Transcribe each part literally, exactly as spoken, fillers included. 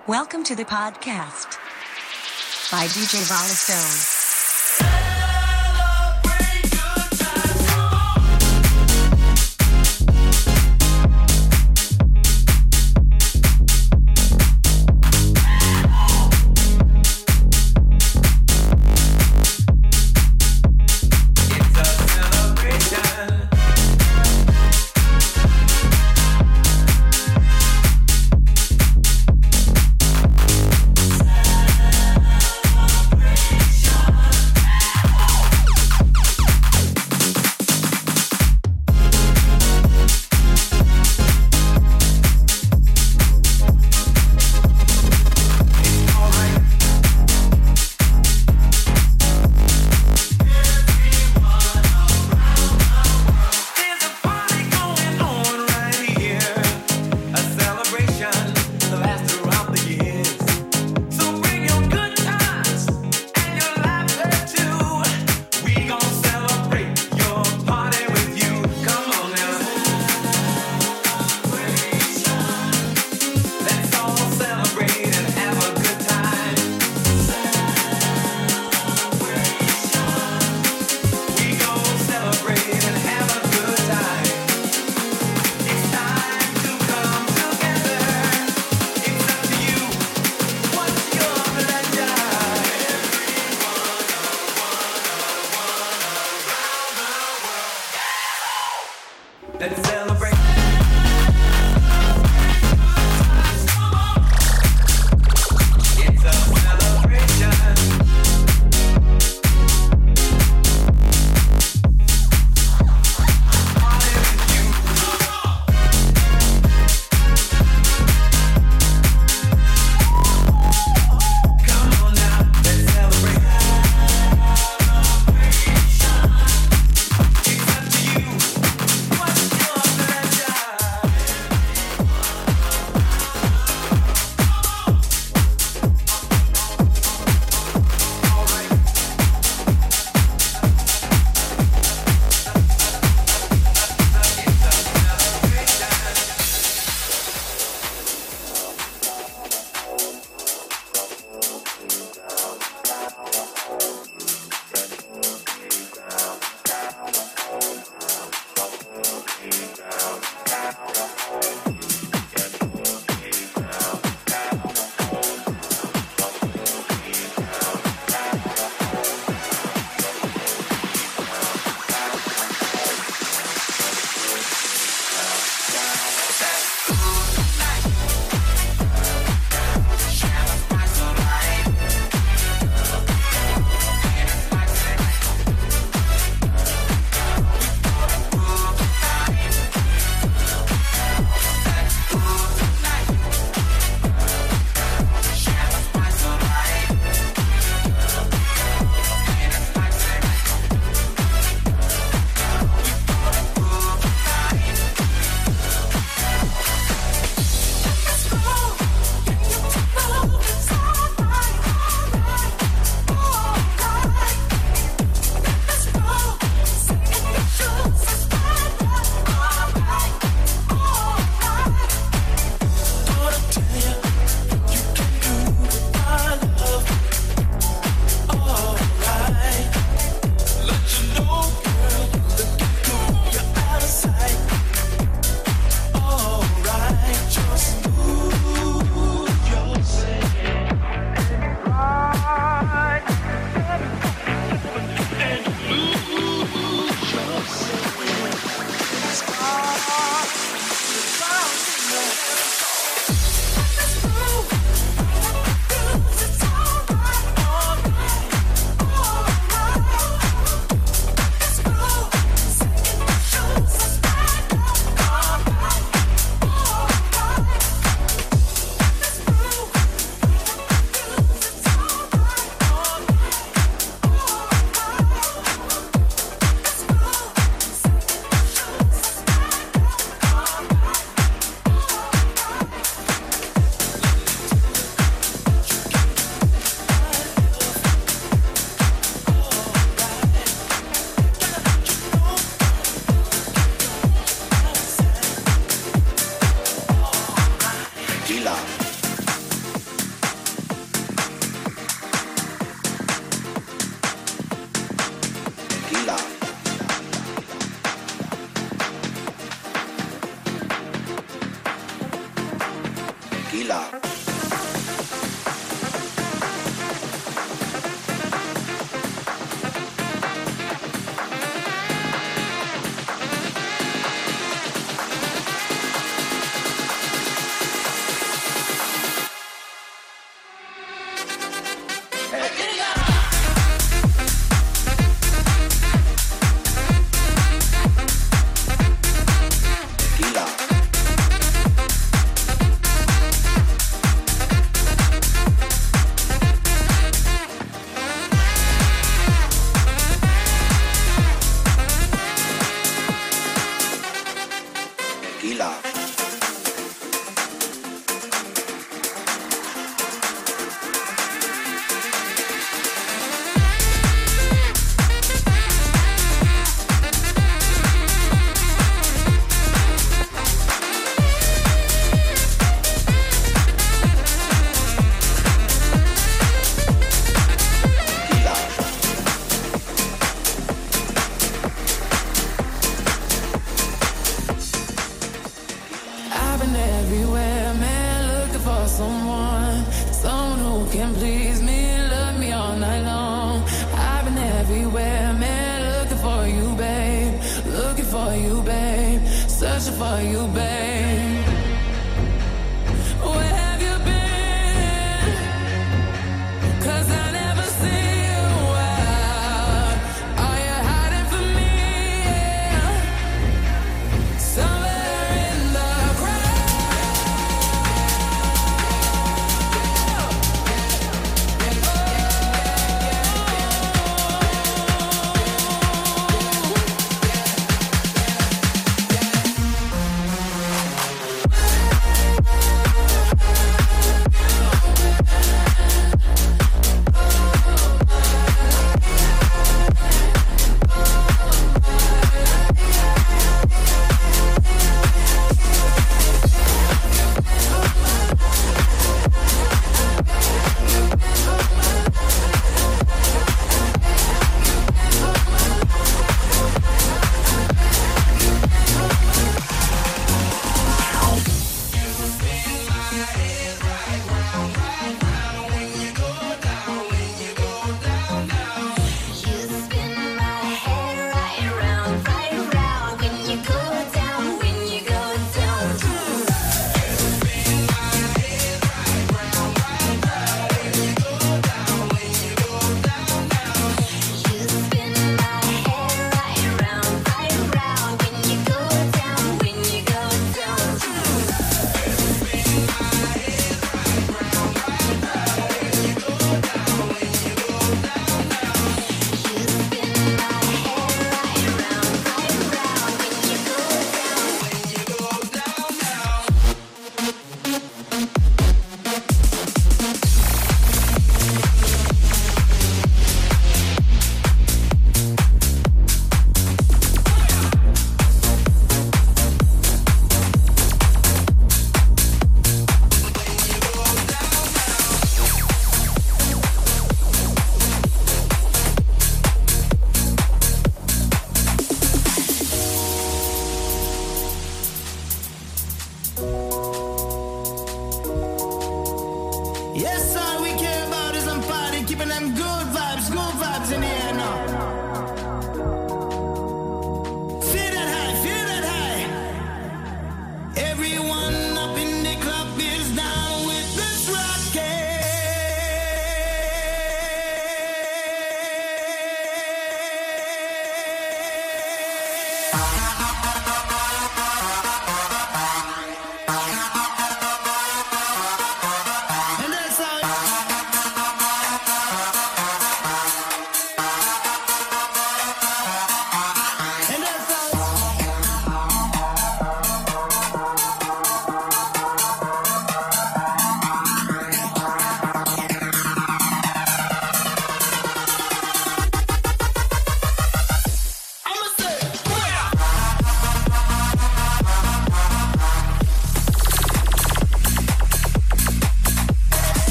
Welcome to the podcast by D J Volastone.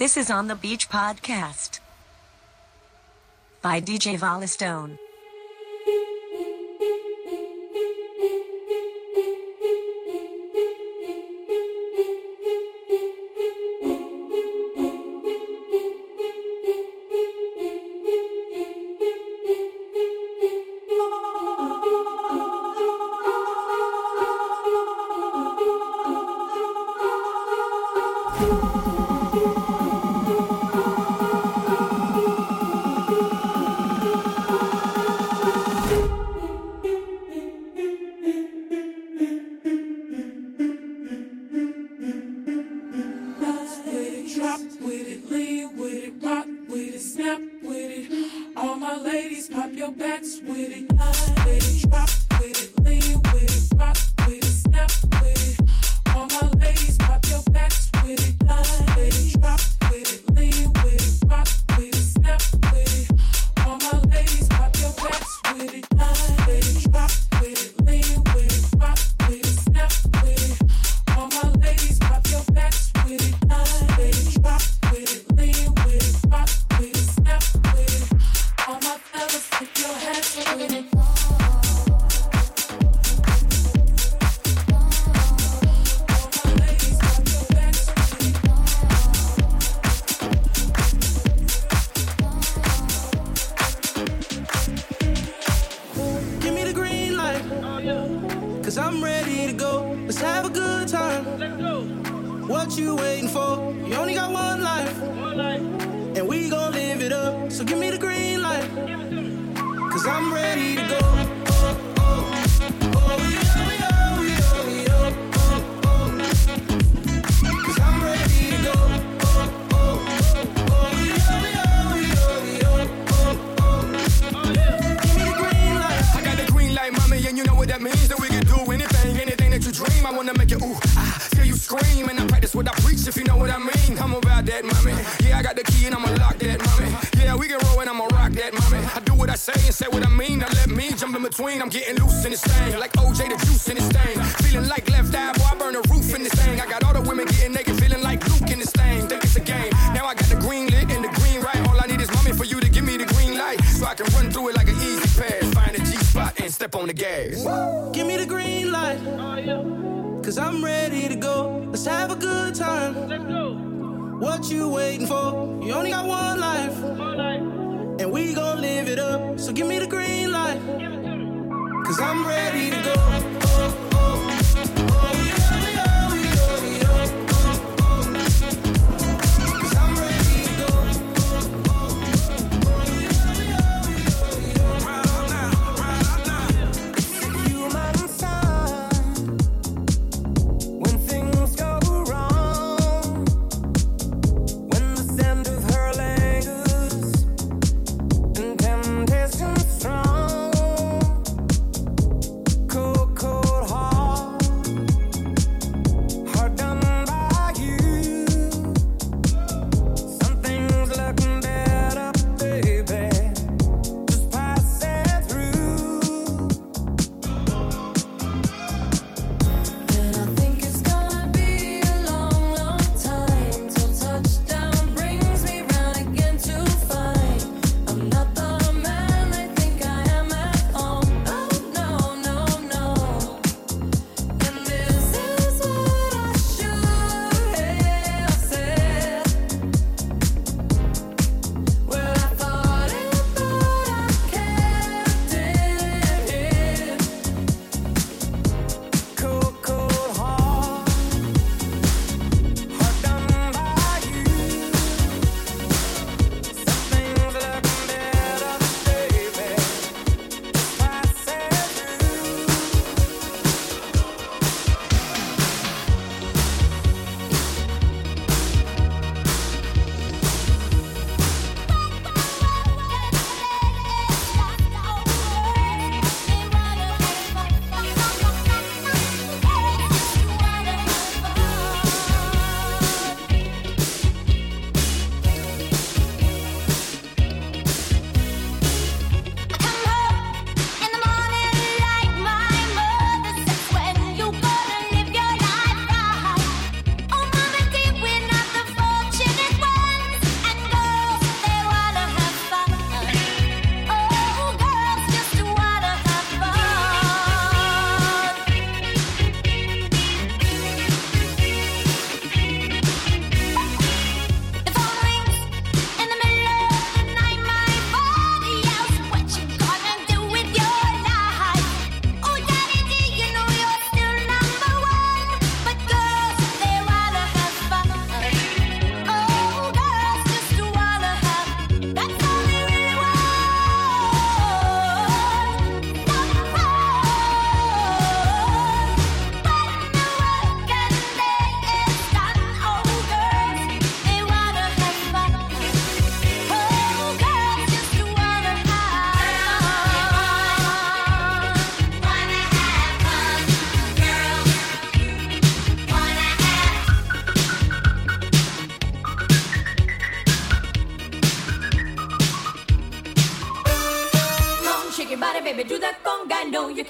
This is On the Beach Podcast by D J Volastone. I'm getting loose in this thing, like O J the juice in this thing. Feeling like left eye, boy, I burn the roof in this thing. I got all the women getting naked, feeling like Luke in this thing. Think it's a game. Now I got the green lit and the green right. All I need is mommy for you to give me the green light, so I can run through it like an easy pass. Find a G spot and step on the gas. Give me the green light, cause I'm ready to go. Let's have a good time. Let's go. What you waiting for? You only got one life, one life. And we gon' live it up. So give me the green light, cause I'm ready to go. Oh, oh, oh, yeah, yeah, yeah, yeah. Oh, oh. Cause I'm ready to go. Oh, oh, oh, yeah, yeah, yeah. Right on now, right on now. It's a human sign when things go wrong, when the scent of her lingers and temptation strong. Coco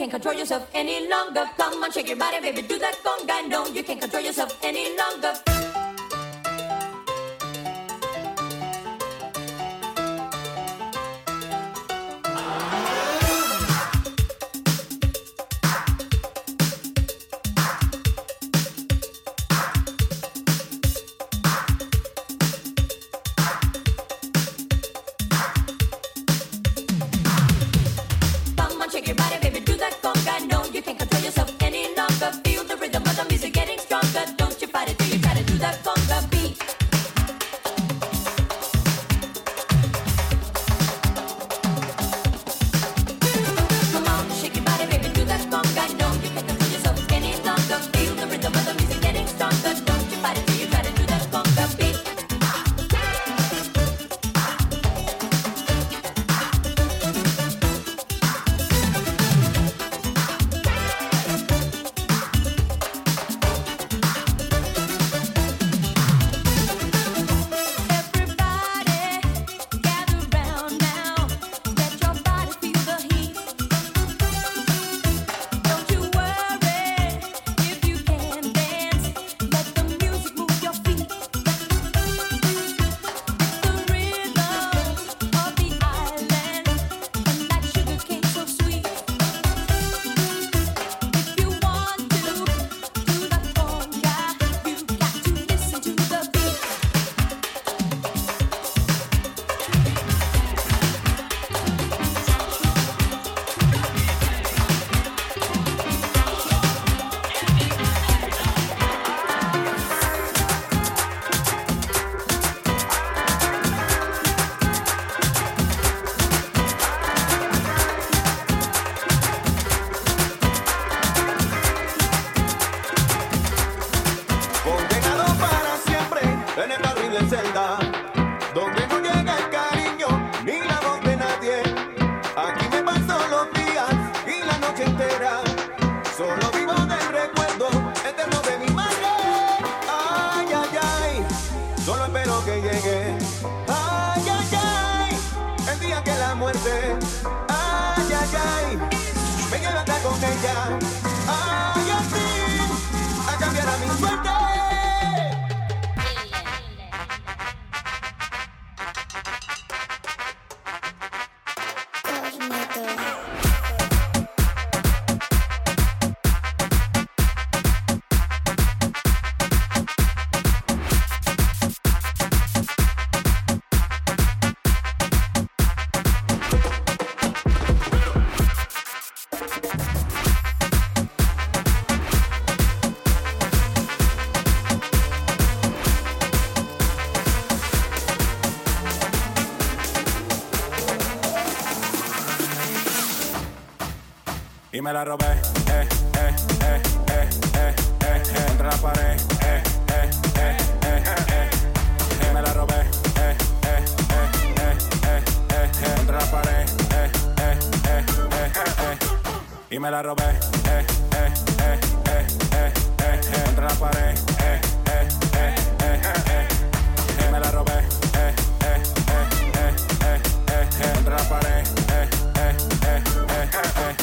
can't control yourself any longer. Come on, shake your body, baby, do that conga. No, you can't control yourself any longer. Y me la robé, eh, eh, eh, eh, eh, eh, eh, contra la pared, eh, eh, eh, eh, eh, eh, me la robé, eh, eh, eh, eh, eh, eh, eh, contra la pared, eh, eh, eh, eh, eh, y me la robé, eh, eh, eh, eh, eh, eh, eh, contra la pared, eh, eh, eh, eh, eh, eh, me la robé, eh, eh, eh, eh, eh, eh, eh, contra la pared, eh, eh, eh, eh, eh.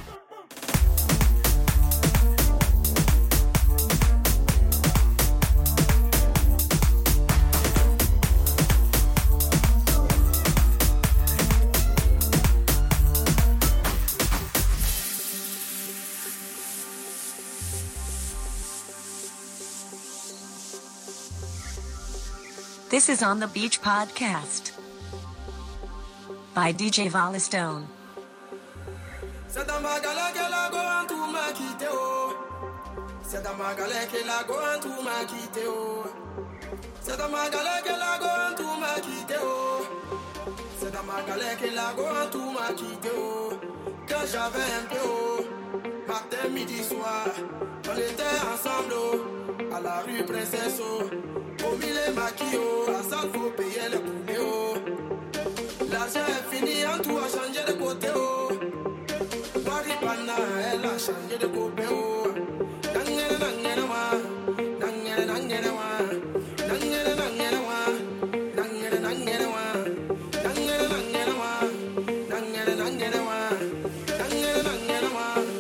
This is On the Beach podcast by D J Valistone. C'est un bagala que la goan tout m'a quitté oh. C'est un bagala que la goan tout m'a quitté oh. C'est un bagala que la goan tout m'a quitté oh. C'est un bagala que la goan tout m'a quitté oh. Quand j'avais un peu oh. Matin, midi, soir, on était ensemble oh. À la rue Princesse oh. Au mille maquillots, à ça faut payer le poulet oh. L'argent est fini, en tout a changé de côté oh. Waripana, elle a changé de côté oh. Nangere nangere wa, nangere nangere wa, nangere nangere wa, nangere nangere wa, nangere nangere wa, nangere nangere wa, nangere nangere wa.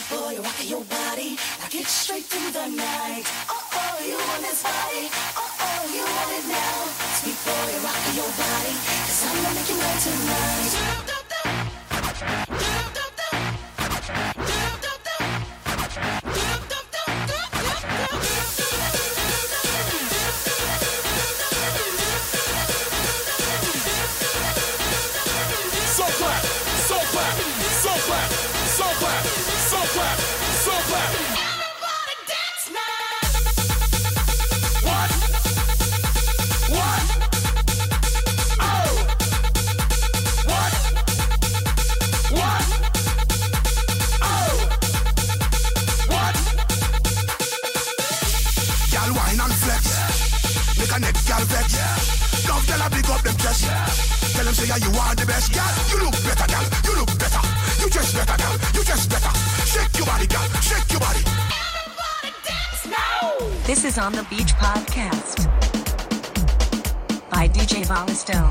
boy, rock your body, like it's straight through the night. Oh oh, you want this body? Oh oh, you want it now? Sweet boy, rock your body, 'cause I'm gonna make you mine tonight. So clap, so clap, so clap, so clap, so clap, so clap. Everybody dance now. What? What? Oh! What? What? Oh! What? Y'all wine and flex. Make a neck, y'all vex. Love y'all a big up them chest. Tell them say yeah, you are the best. Y'all, you look better, y'all. You look better. You just better, y'all. You just better. Shake your body, y'all. Shake your body. Everybody dance now. This is On the Beach Podcast by D J Volistone.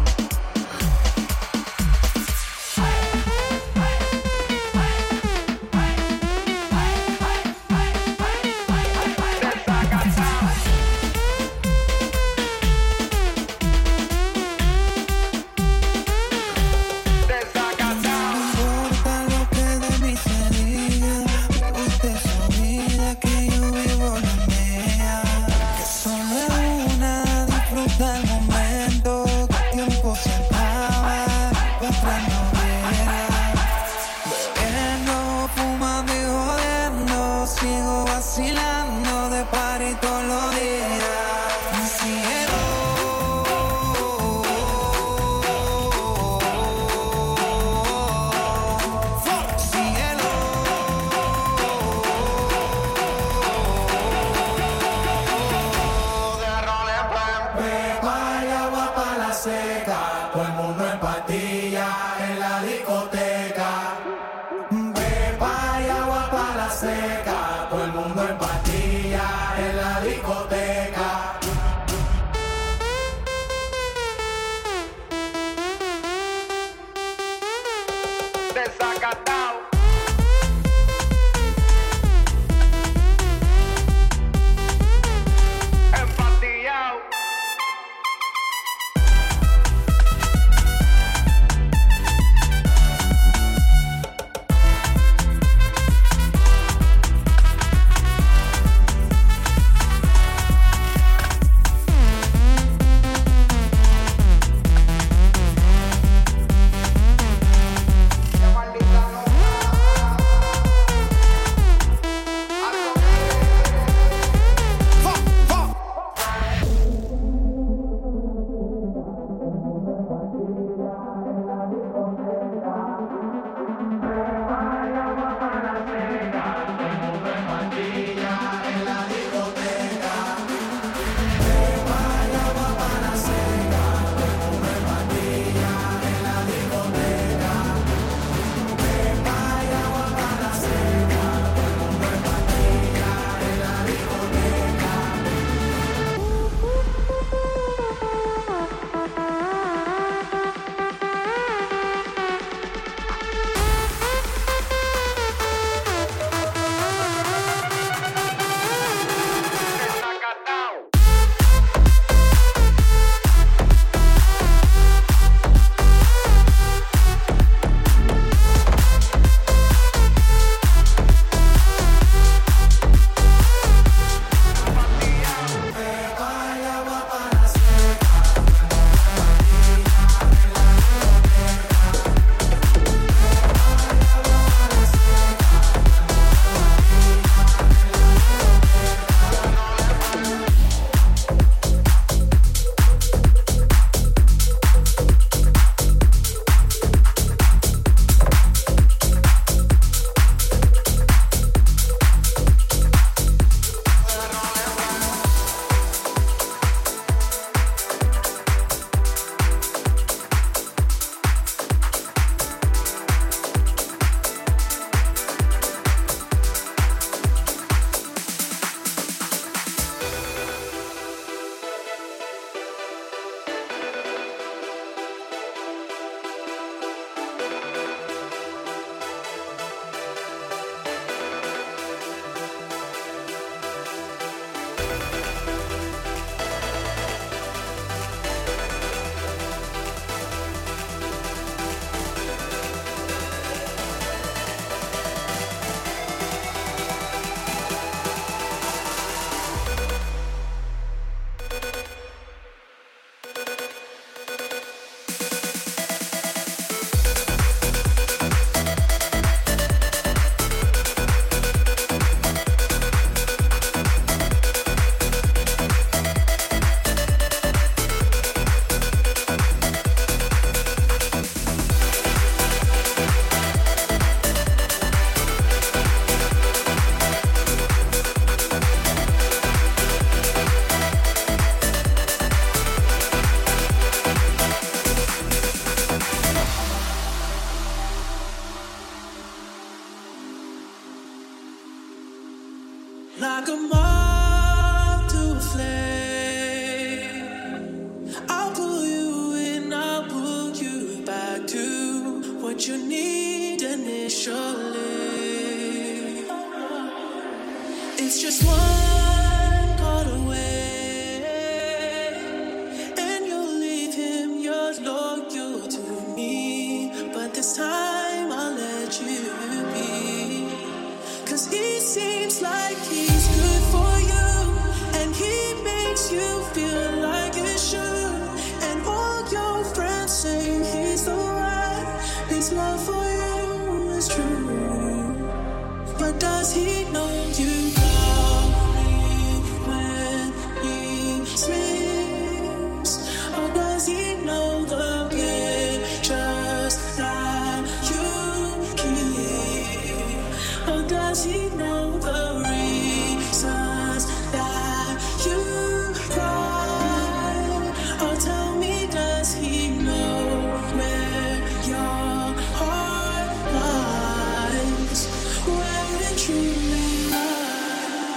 Just one call away, and you'll leave him. You're loyal to me, but this time I'll let you be. Cause he seems like he's good for you, and he makes you feel like you should. And all your friends say he's the one, his love for you is true. But does he know you call me when he sleeps? Or does he know the pictures that you keep? Or does he know the reasons that you cry? Or tell me, does he know where your heart lies? Where it truly lies?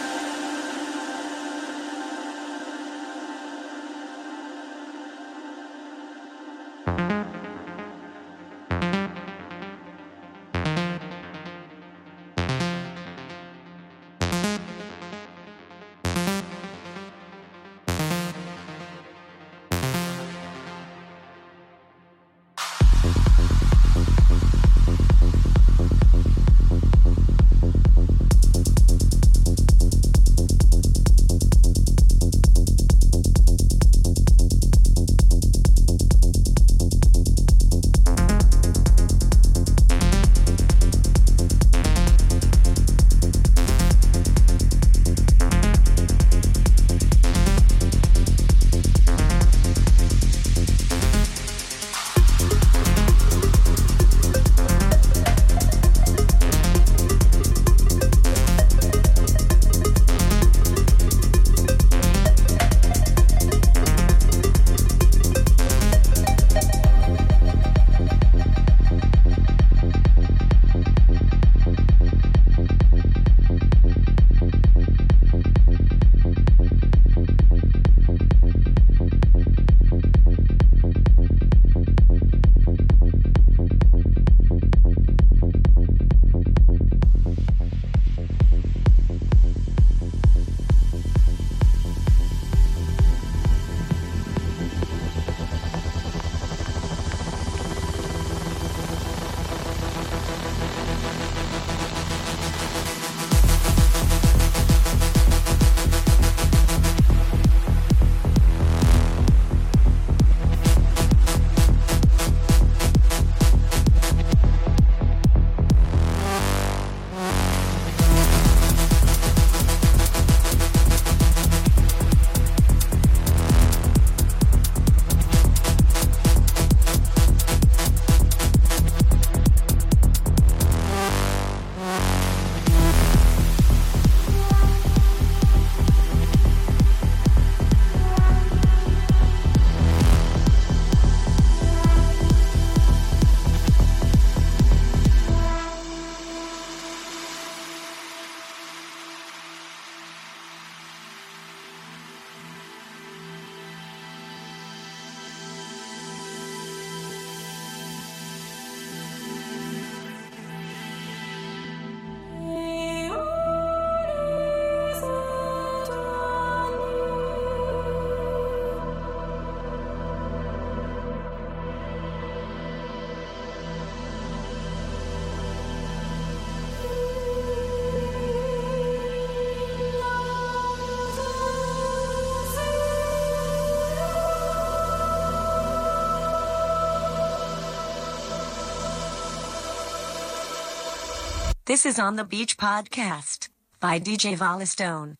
This is On the Beach podcast by D J Volistone.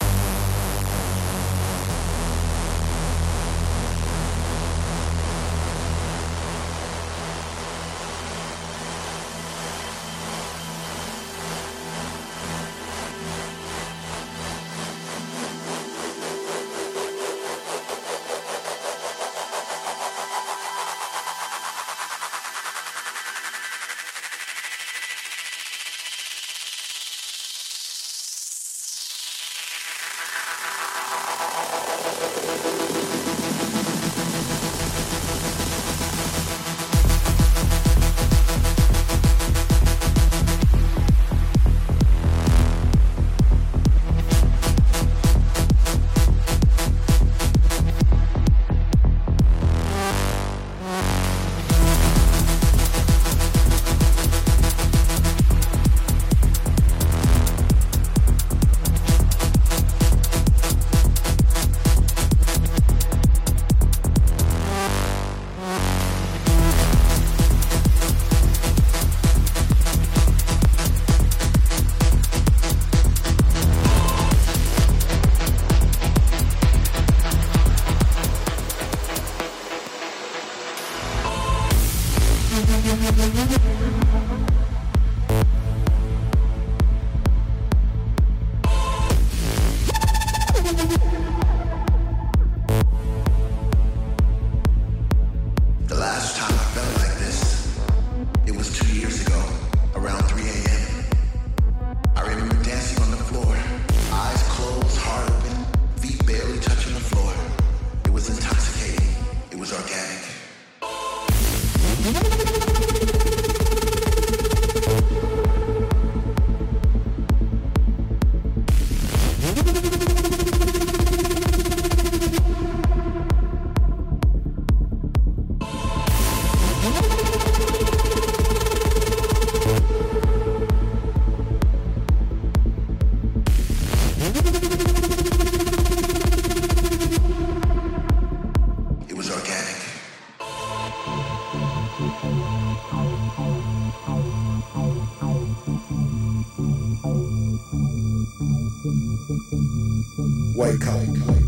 Wake up.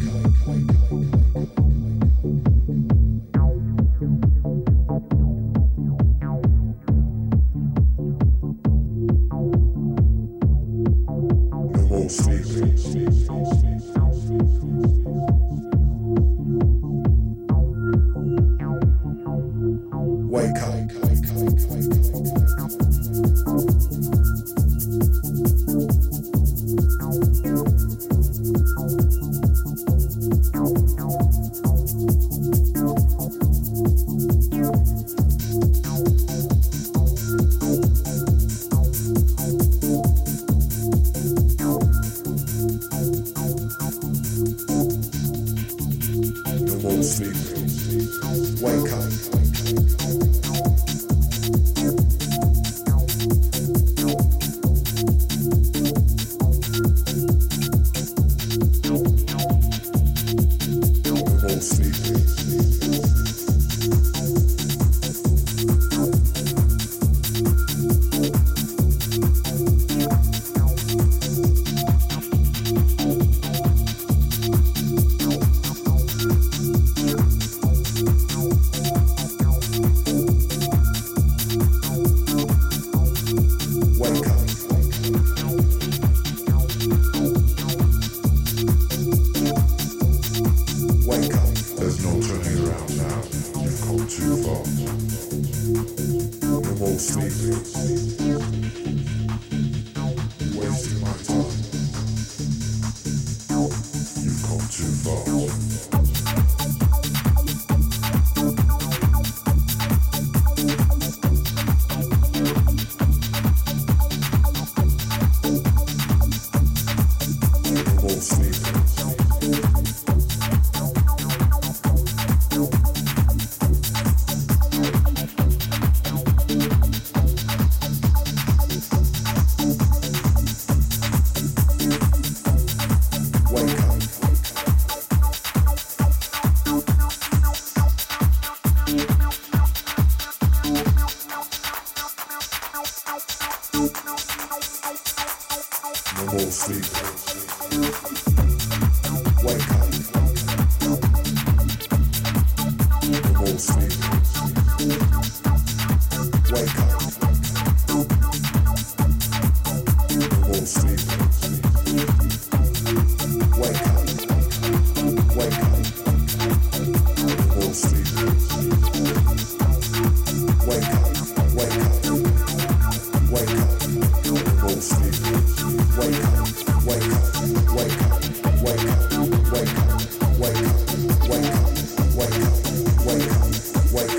No more sleeping. Wake up. Wake up, wake up, wake up, wake up, wake up, wake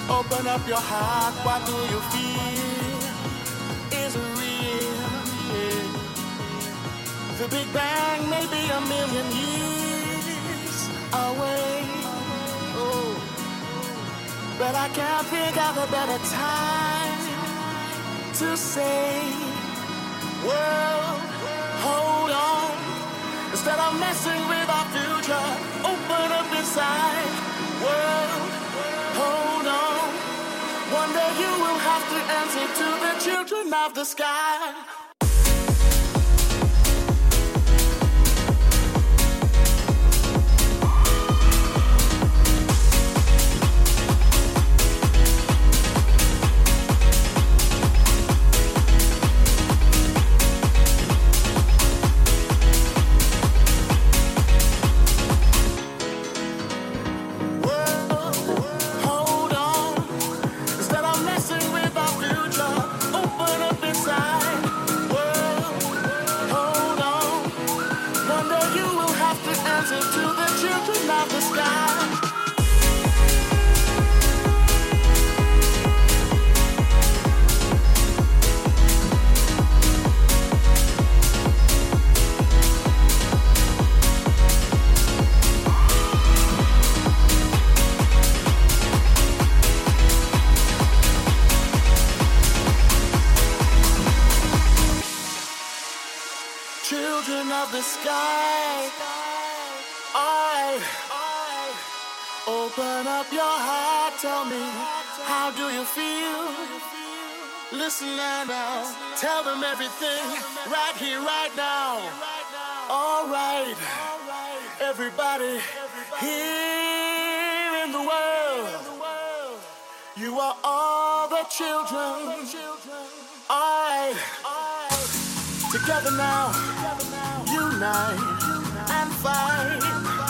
Open up your heart, what do you feel? Is it real? Yeah. The Big Bang may be a million years away. Oh, but I can't think of a better time to say, world, hold on. Instead of messing with our future, open up inside. World, hold on. One day you will have to answer to the children of the sky. Children of the sky, I, open up your heart, tell me, how do you feel? Listen now, tell them everything, right here, right now. All right, everybody here in the world, you are all the children. All right, together now, unite and fight.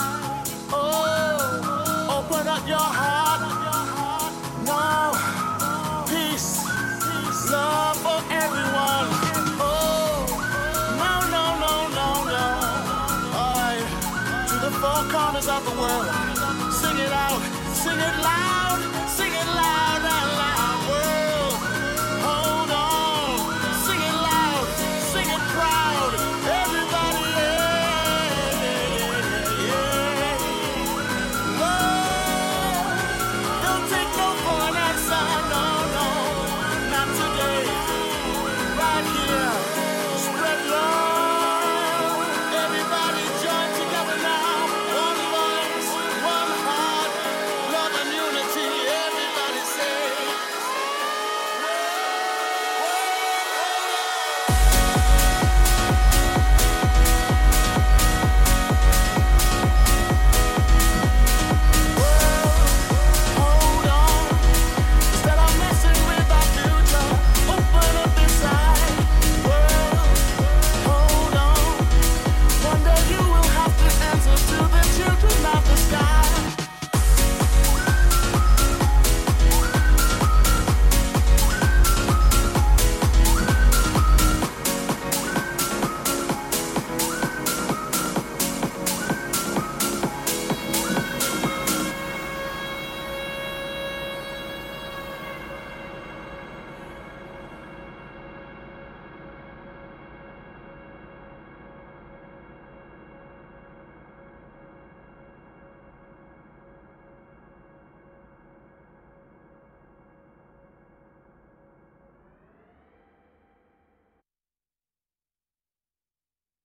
Oh, open up your heart. No, peace, love for everyone. Oh, no, no, no, no, no. All right, to the four corners of the world, sing it out, sing it loud.